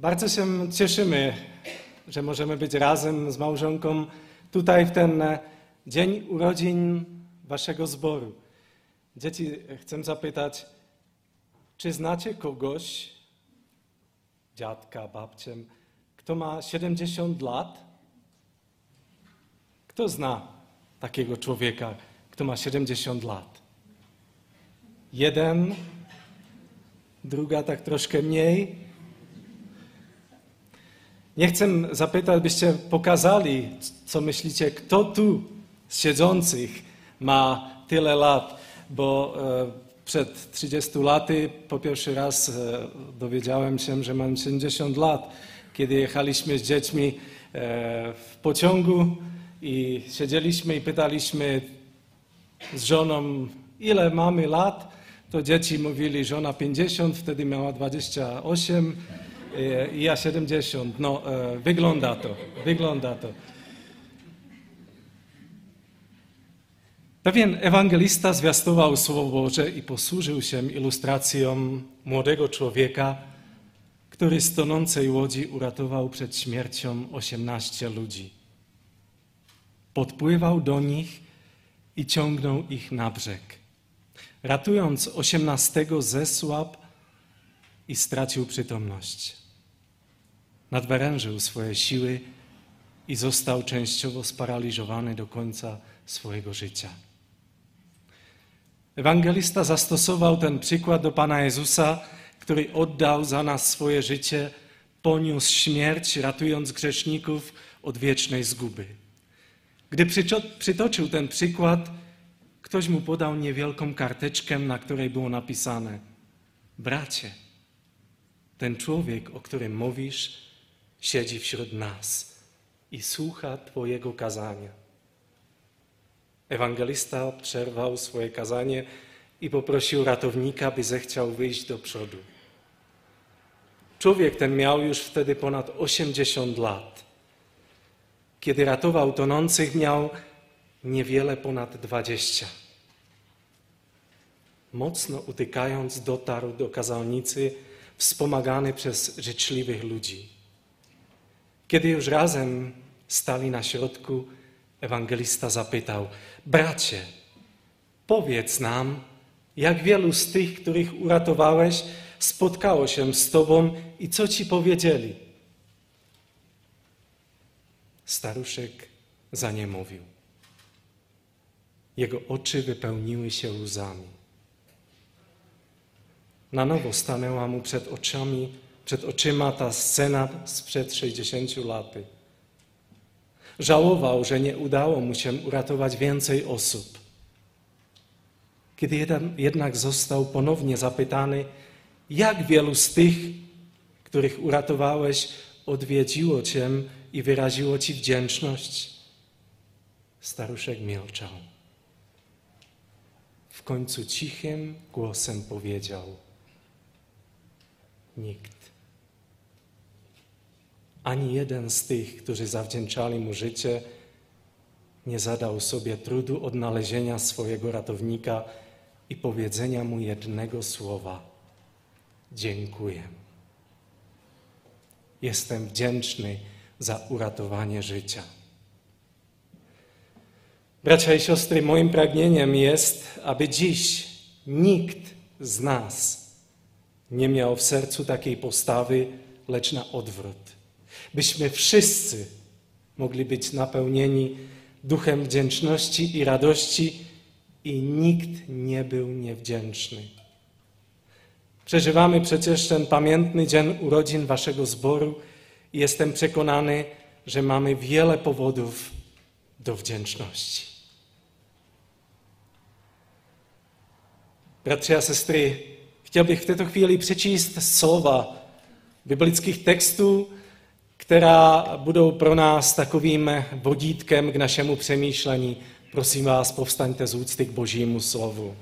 Bardzo się cieszymy, że możemy być razem z małżonką tutaj w ten dzień urodzin waszego zboru. Dzieci, chcę zapytać, czy znacie kogoś, dziadka, babcię, kto ma 70 lat? Kto zna takiego człowieka, kto ma 70 lat? Jeden, druga tak troszkę mniej. Nie chcę zapytać, byście pokazali, co myślicie, kto tu z siedzących ma tyle lat, bo przed 30 laty po pierwszy raz dowiedziałem się, że mam 70 lat, kiedy jechaliśmy z dziećmi w pociągu i siedzieliśmy i pytaliśmy z żoną, ile mamy lat, to dzieci mówili, żona 50, wtedy miała 28 i ja 70. No, wygląda to. Pewien ewangelista zwiastował Słowo Boże i posłużył się ilustracją młodego człowieka, który z tonącej łodzi uratował przed śmiercią 18 ludzi. Podpływał do nich i ciągnął ich na brzeg. Ratując 18 zesłabł i stracił przytomność. Nadwyrężył swoje siły i został częściowo sparaliżowany do końca swojego życia. Ewangelista zastosował ten przykład do Pana Jezusa, który oddał za nas swoje życie, poniósł śmierć, ratując grzeszników od wiecznej zguby. Gdy przytoczył ten przykład, ktoś mu podał niewielką karteczkę, na której było napisane: bracie, ten człowiek, o którym mówisz, siedzi wśród nas i słucha Twojego kazania. Ewangelista przerwał swoje kazanie i poprosił ratownika, by zechciał wyjść do przodu. Człowiek ten miał już wtedy ponad 80 lat. Kiedy ratował tonących, miał niewiele ponad 20. Mocno utykając, dotarł do kazalnicy, wspomagany przez życzliwych ludzi. Kiedy już razem stali na środku, ewangelista zapytał: bracie, powiedz nam, jak wielu z tych, których uratowałeś, spotkało się z Tobą i co Ci powiedzieli? Staruszek zaniemówił. Jego oczy wypełniły się łzami. Na nowo stanęła mu przed oczyma ta scena sprzed 60 lat. Żałował, że nie udało mu się uratować więcej osób. Kiedy jednak został ponownie zapytany, jak wielu z tych, których uratowałeś, odwiedziło Cię i wyraziło Ci wdzięczność, staruszek milczał. W końcu cichym głosem powiedział: nikt. Ani jeden z tych, którzy zawdzięczali mu życie, nie zadał sobie trudu odnalezienia swojego ratownika i powiedzenia mu jednego słowa: dziękuję. Jestem wdzięczny za uratowanie życia. Bracia i siostry, moim pragnieniem jest, aby dziś nikt z nas nie miał w sercu takiej postawy, lecz na odwrót. Byśmy wszyscy mogli być napełnieni duchem wdzięczności i radości i nikt nie był niewdzięczny. Przeżywamy przecież ten pamiętny dzień urodzin waszego zboru i jestem przekonany, że mamy wiele powodów do wdzięczności. Bracia a sestry, chciałbym w této chvíli přečíst slova biblických textů, která budou pro nás takovým vodítkem k našemu přemýšlení. Prosím vás, povstaňte z úcty k Božímu slovu.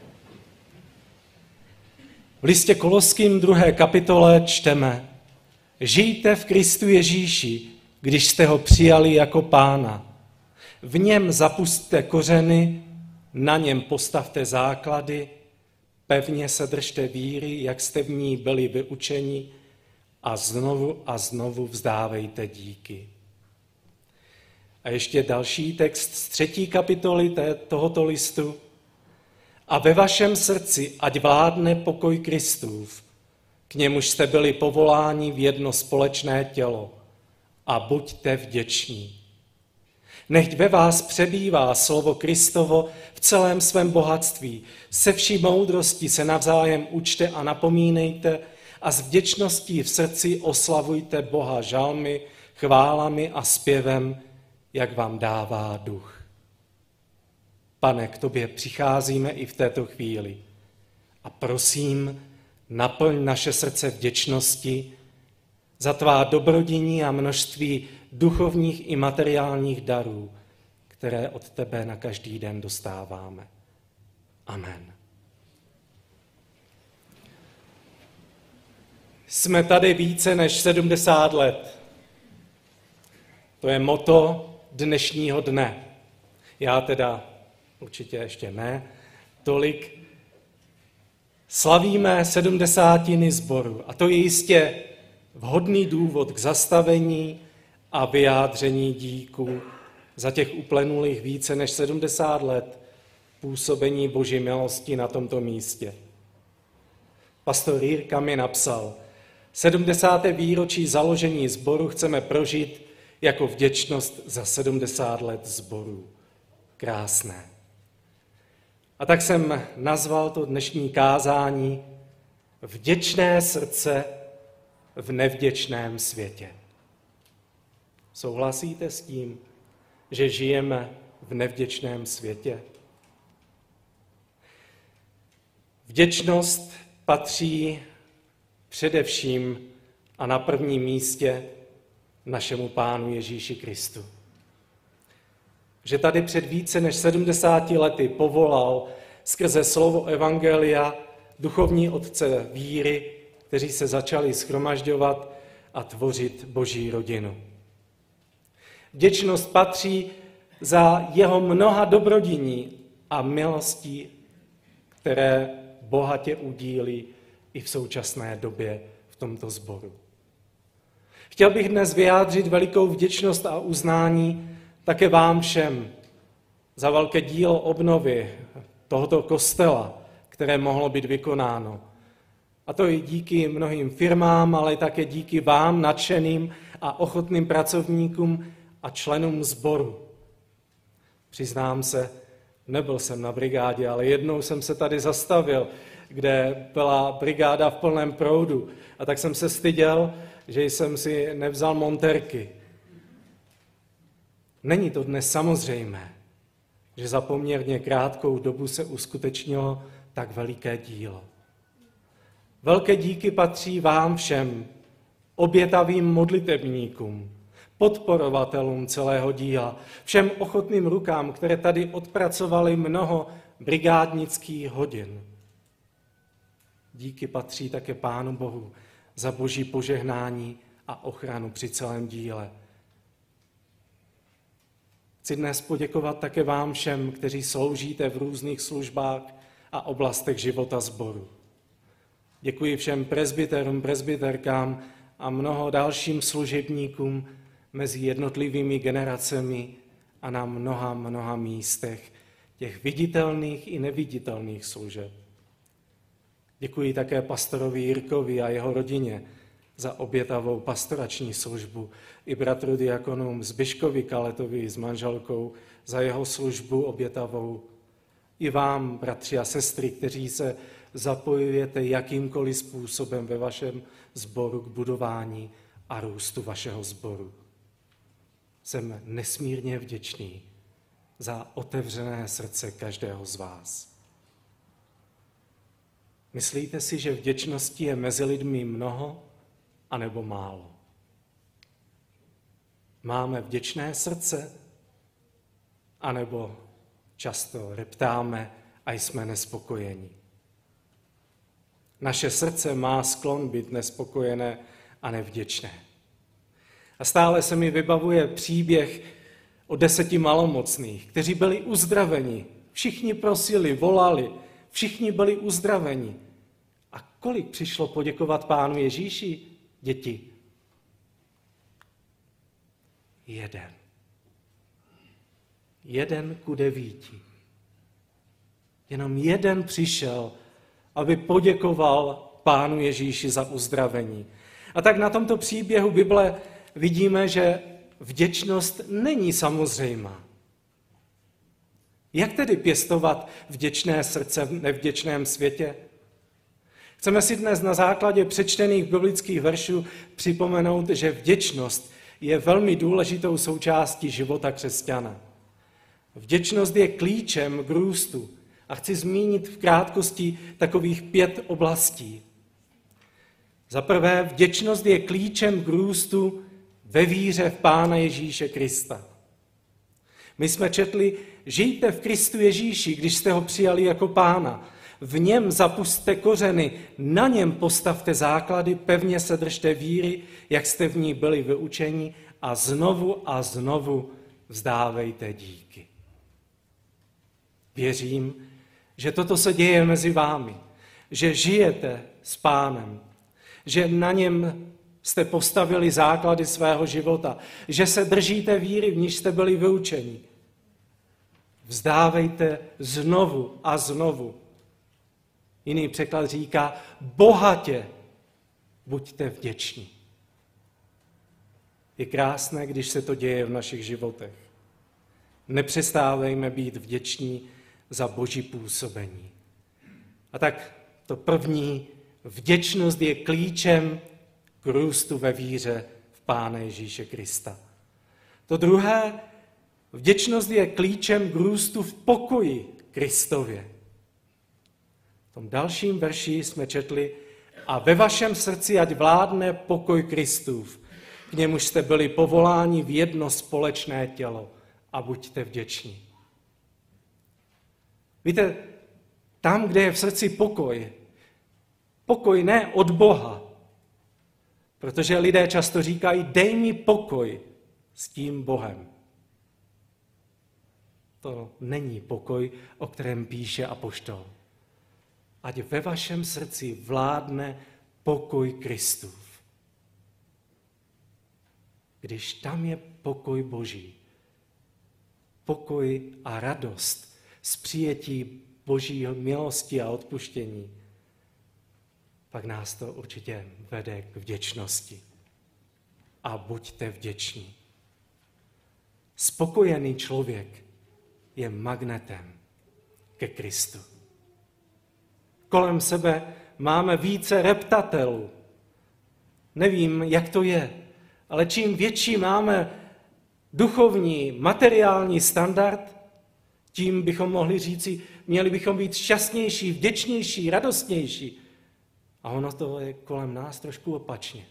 V listě Koloským 2. kapitole čteme: žijte v Kristu Ježíši, když jste ho přijali jako Pána. V něm zapusťte kořeny, na něm postavte základy, pevně se držte víry, jak jste v ní byli vyučeni, a znovu vzdávejte díky. A ještě další text z 3. kapitoly tohoto listu. A ve vašem srdci ať vládne pokoj Kristův, k němuž jste byli povoláni v jedno společné tělo, a buďte vděční. Nechť ve vás přebývá slovo Kristovo v celém svém bohatství. Se vší moudrostí se navzájem učte a napomínejte a s vděčností v srdci oslavujte Boha žalmy, chválami a zpěvem, jak vám dává duch. Pane, k tobě přicházíme i v této chvíli a prosím, naplň naše srdce vděčnosti za tvá dobrodiní a množství duchovních i materiálních darů, které od tebe na každý den dostáváme. Amen. Jsme tady více než 70 let. To je motto dnešního dne. Já teda určitě ještě ne tolik. Slavíme 70. sboru a to je jistě vhodný důvod k zastavení a vyjádření díku za těch uplynulých více než 70 let působení Boží milosti na tomto místě. Pastor Jirka mi napsal, 70. výročí založení sboru chceme prožít jako vděčnost za 70 let sboru. Krásné. A tak jsem nazval to dnešní kázání Vděčné srdce v nevděčném světě. Souhlasíte s tím, že žijeme v nevděčném světě? Vděčnost patří především a na prvním místě našemu Pánu Ježíši Kristu. Že tady před více než 70 lety povolal skrze slovo evangelia duchovní otce víry, kteří se začali shromažďovat a tvořit Boží rodinu. Vděčnost patří za jeho mnoha dobrodiní a milostí, které bohatě udílí i v současné době v tomto sboru. Chtěl bych dnes vyjádřit velikou vděčnost a uznání také vám všem za velké dílo obnovy tohoto kostela, které mohlo být vykonáno. A to i díky mnohým firmám, ale také díky vám, nadšeným a ochotným pracovníkům a členům sboru. Přiznám se, nebyl jsem na brigádě, ale jednou jsem se tady zastavil, kde byla brigáda v plném proudu. A tak jsem se styděl, že jsem si nevzal montérky. Není to dnes samozřejmé, že za poměrně krátkou dobu se uskutečnilo tak veliké dílo. Velké díky patří vám všem, obětavým modlitebníkům, podporovatelům celého díla, všem ochotným rukám, které tady odpracovali mnoho brigádnických hodin. Díky patří také Pánu Bohu za Boží požehnání a ochranu při celém díle. Chci dnes poděkovat také vám všem, kteří sloužíte v různých službách a oblastech života sboru. Děkuji všem presbyterům, presbyterkám a mnoho dalším služebníkům mezi jednotlivými generacemi a na mnoha místech těch viditelných i neviditelných služeb. Děkuji také pastorovi Jirkovi a jeho rodině za obětavou pastorační službu i bratru diakonům Zbyškovi Kaletovi s manželkou za jeho službu obětavou. I vám, bratři a sestry, kteří se zapojujete jakýmkoliv způsobem ve vašem sboru k budování a růstu vašeho sboru. Jsem nesmírně vděčný za otevřené srdce každého z vás. Myslíte si, že vděčnosti je mezi lidmi mnoho anebo málo? Máme vděčné srdce anebo často reptáme a jsme nespokojení? Naše srdce má sklon být nespokojené a nevděčné. A stále se mi vybavuje příběh o 10 malomocných, kteří byli uzdraveni. Všichni prosili, volali, všichni byli uzdraveni. A kolik přišlo poděkovat Pánu Ježíši? děti? Jeden ku 9. Jenom jeden přišel, aby poděkoval Pánu Ježíši za uzdravení. A tak na tomto příběhu Bible vidíme, že vděčnost není samozřejmá. Jak tedy pěstovat vděčné srdce v nevděčném světě? Chceme si dnes na základě přečtených biblických veršů připomenout, že vděčnost je velmi důležitou součástí života křesťana. Vděčnost je klíčem k růstu a chci zmínit v krátkosti takových 5 oblastí. Za prvé, vděčnost je klíčem k růstu ve víře v Pána Ježíše Krista. My jsme četli, žijte v Kristu Ježíši, když jste ho přijali jako Pána. V něm zapusťte kořeny, na něm postavte základy, pevně se držte víry, jak jste v ní byli vyučeni a znovu vzdávejte díky. Věřím, že toto se děje mezi vámi, že žijete s Pánem, že na něm jste postavili základy svého života, že se držíte víry, v níž jste byli vyučeni. Vzdávejte znovu a znovu. Jiný překlad říká, bohatě buďte vděční. Je krásné, když se to děje v našich životech. Nepřestávejme být vděční za Boží působení. A tak to první, vděčnost je klíčem k růstu ve víře v Pána Ježíše Krista. To druhé, vděčnost je klíčem k růstu v pokoji Kristově. V tom dalším verši jsme četli, a ve vašem srdci ať vládne pokoj Kristův, k němuž jste byli povoláni v jedno společné tělo a buďte vděční. Víte, tam, kde je v srdci pokoj ne od Boha, protože lidé často říkají, dej mi pokoj s tím Bohem. To není pokoj, o kterém píše apoštol. Ať ve vašem srdci vládne pokoj Kristův. Když tam je pokoj Boží, pokoj a radost z přijetí Boží milosti a odpuštění, pak nás to určitě vede k vděčnosti. A buďte vděční. Spokojený člověk je magnetem ke Kristu. Kolem sebe máme více reptatelů. Nevím, jak to je, ale čím větší máme duchovní, materiální standard, tím bychom mohli říci, měli bychom být šťastnější, vděčnější, radostnější. A ono to je kolem nás trošku opačně.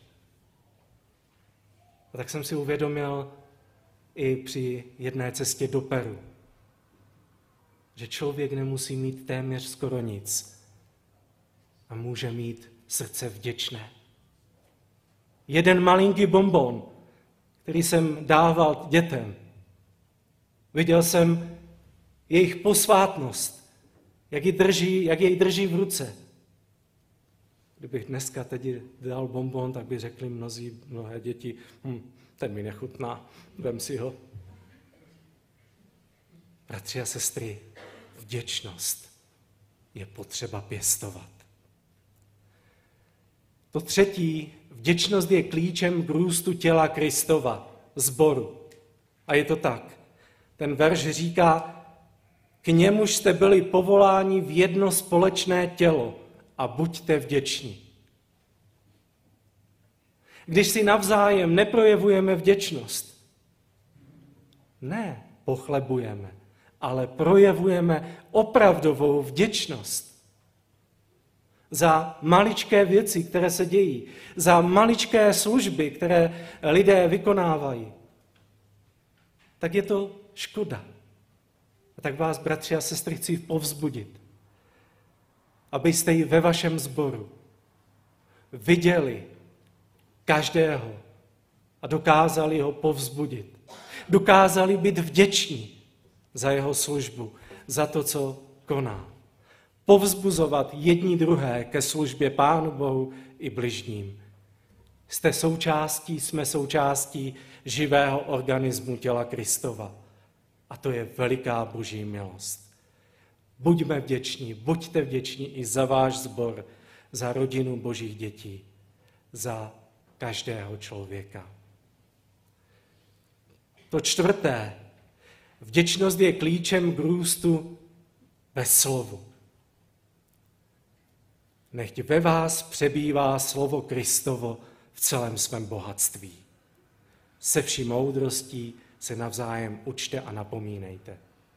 A tak jsem si uvědomil i při jedné cestě do Peru, že člověk nemusí mít téměř skoro nic a může mít srdce vděčné. Jeden malinký bonbon, který jsem dával dětem, viděl jsem jejich posvátnost, jak jej drží v ruce. Kdybych dneska teď dal bonbon, tak by řekli mnohé děti, ten mi nechutná, vem si ho. Bratři a sestry, vděčnost je potřeba pěstovat. To třetí, vděčnost je klíčem k růstu těla Kristova, sboru. A je to tak. Ten verš říká, k němuž jste byli povoláni v jedno společné tělo a buďte vděční. Když si navzájem neprojevujeme vděčnost, ne pochlebujeme, ale projevujeme opravdovou vděčnost za maličké věci, které se dějí, za maličké služby, které lidé vykonávají, tak je to škoda. A tak vás, bratři a sestry, chci povzbudit, abyste ji ve vašem sboru viděli každého a dokázali ho povzbudit. Dokázali být vděční za jeho službu, za to, co koná. Povzbuzovat jedni druhé ke službě Pánu Bohu i bližním. Jsme součástí živého organismu těla Kristova. A to je veliká Boží milost. Buďme vděční, buďte vděční i za váš sbor, za rodinu Božích dětí, za každého člověka. To čtvrté. Vděčnost je klíčem k růstu ve slovu. Nechť ve vás přebývá slovo Kristovo v celém svém bohatství. Se vší moudrostí se navzájem učte a napomínejte.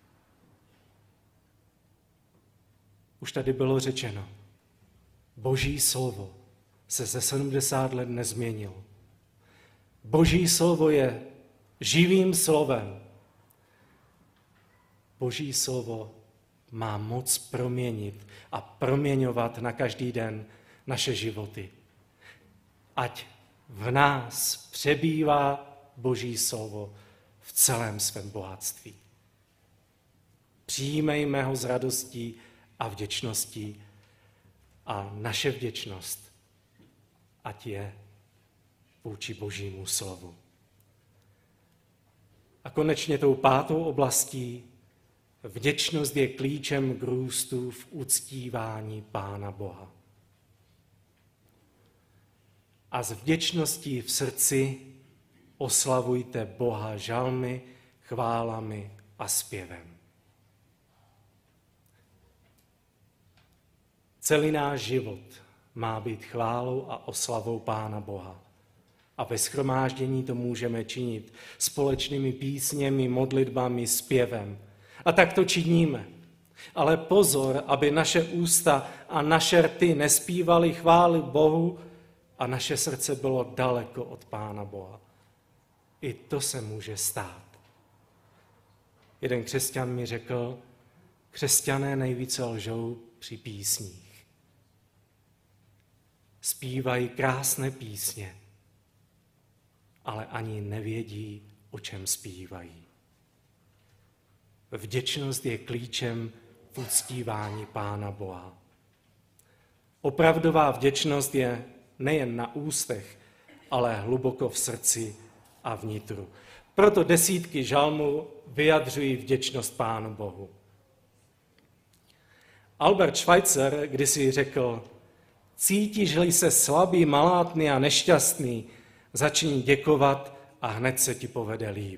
Už tady bylo řečeno, Boží slovo se ze 70 let nezměnilo. Boží slovo je živým slovem. Boží slovo má moc proměnit a proměňovat na každý den naše životy. Ať v nás přebývá Boží slovo v celém svém bohatství. Přijímejme ho s radostí a vděčností a naše vděčnost ať je vůči Božímu slovu. A konečně tou pátou oblastí vděčnost je klíčem k růstu v uctívání Pána Boha. A s vděčností v srdci oslavujte Boha žalmy, chválami a zpěvem. Celý náš život má být chválou a oslavou Pána Boha. A ve shromáždění to můžeme činit společnými písněmi, modlitbami, zpěvem. A tak to činíme. Ale pozor, aby naše ústa a naše rty nespívaly chvály Bohu a naše srdce bylo daleko od Pána Boha. I to se může stát. Jeden křesťan mi řekl, křesťané nejvíce lžou při písních. Zpívají krásné písně, ale ani nevědí, o čem zpívají. Vděčnost je klíčem v uctívání Pána Boha. Opravdová vděčnost je nejen na ústech, ale hluboko v srdci a vnitru. Proto desítky žalmů vyjadřují vděčnost Pánu Bohu. Albert Schweitzer kdysi řekl, cítíš-li se slabý, malátný a nešťastný, začni děkovat a hned se ti povede líp.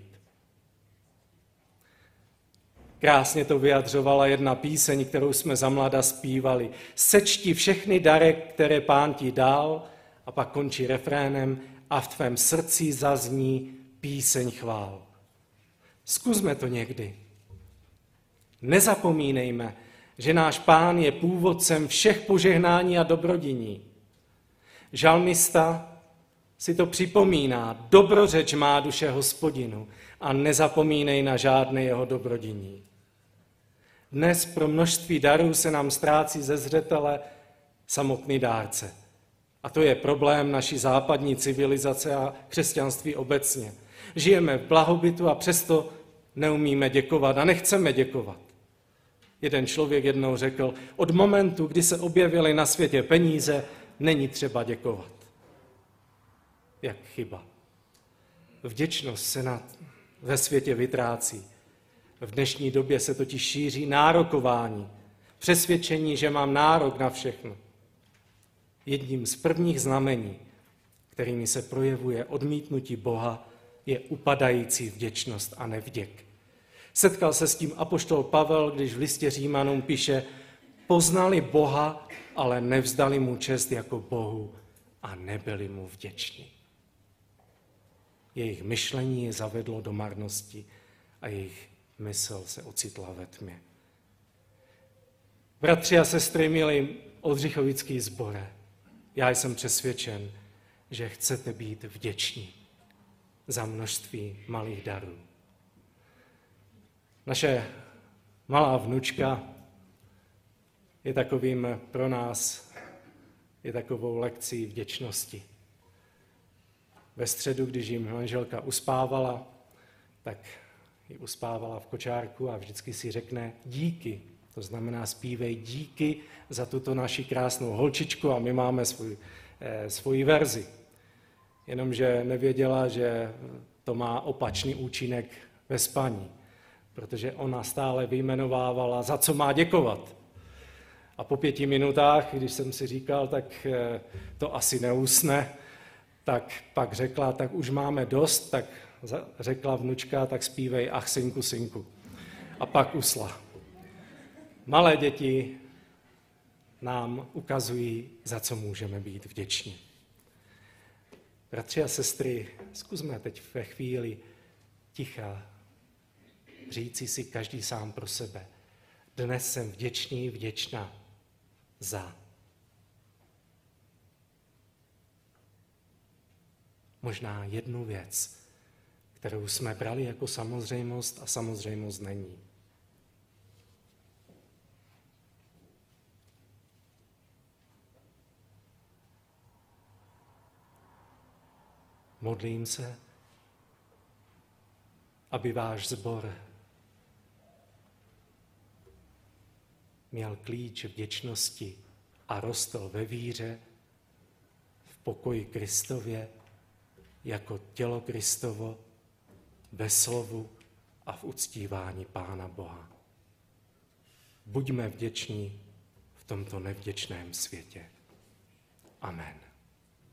Krásně to vyjadřovala jedna píseň, kterou jsme za mlada zpívali. Sečti všechny dary, které Pán ti dal, a pak končí refrénem a v tvém srdci zazní píseň chvál. Zkusme to někdy. Nezapomínejme, že náš Pán je původcem všech požehnání a dobrodiní. Žalmista si to připomíná, dobrořeč má duše Hospodinu a nezapomínej na žádné jeho dobrodiní. Dnes pro množství darů se nám ztrácí ze zřetele samotný dárce. A to je problém naší západní civilizace a křesťanství obecně. Žijeme v blahobytu a přesto neumíme děkovat a nechceme děkovat. Jeden člověk jednou řekl, od momentu, kdy se objevily na světě peníze, není třeba děkovat. Jak chyba. Vděčnost se ve světě vytrácí. V dnešní době se totiž šíří nárokování, přesvědčení, že mám nárok na všechno. Jedním z prvních znamení, kterými se projevuje odmítnutí Boha, je upadající vděčnost a nevděk. Setkal se s tím apoštol Pavel, když v listě Římanům píše, poznali Boha, ale nevzdali mu čest jako Bohu a nebyli mu vděční. Jejich myšlení je zavedlo do marnosti a jejich mysl se ocitla ve tmě. Bratři a sestry, milí oldřichovický sbore, já jsem přesvědčen, že chcete být vděční za množství malých darů. Naše malá vnučka je takovým pro nás, je takovou lekcí vděčnosti. Ve středu, když jim manželka uspávala, tak ji uspávala v kočárku a vždycky si řekne díky. To znamená zpívej díky za tuto naši krásnou holčičku a my máme svoji verzi. jenomže nevěděla, že to má opačný účinek ve spaní, protože ona stále vyjmenovávala, za co má děkovat. A po 5 minutách, když jsem si říkal, tak to asi neusne, tak pak řekla, tak už máme dost, tak řekla vnučka, tak zpívej ach synku, synku. A pak usla. Malé děti nám ukazují, za co můžeme být vděční. Bratři a sestry, zkusme teď ve chvíli ticha říci si každý sám pro sebe. Dnes jsem vděčný, vděčná za. Možná jednu věc, kterou jsme brali jako samozřejmost a samozřejmost není. Modlím se, aby váš sbor měl klíč vděčnosti a rostl ve víře, v pokoji Kristově, jako tělo Kristovo, ve slovu a v uctívání Pána Boha. Buďme vděční v tomto nevděčném světě. Amen.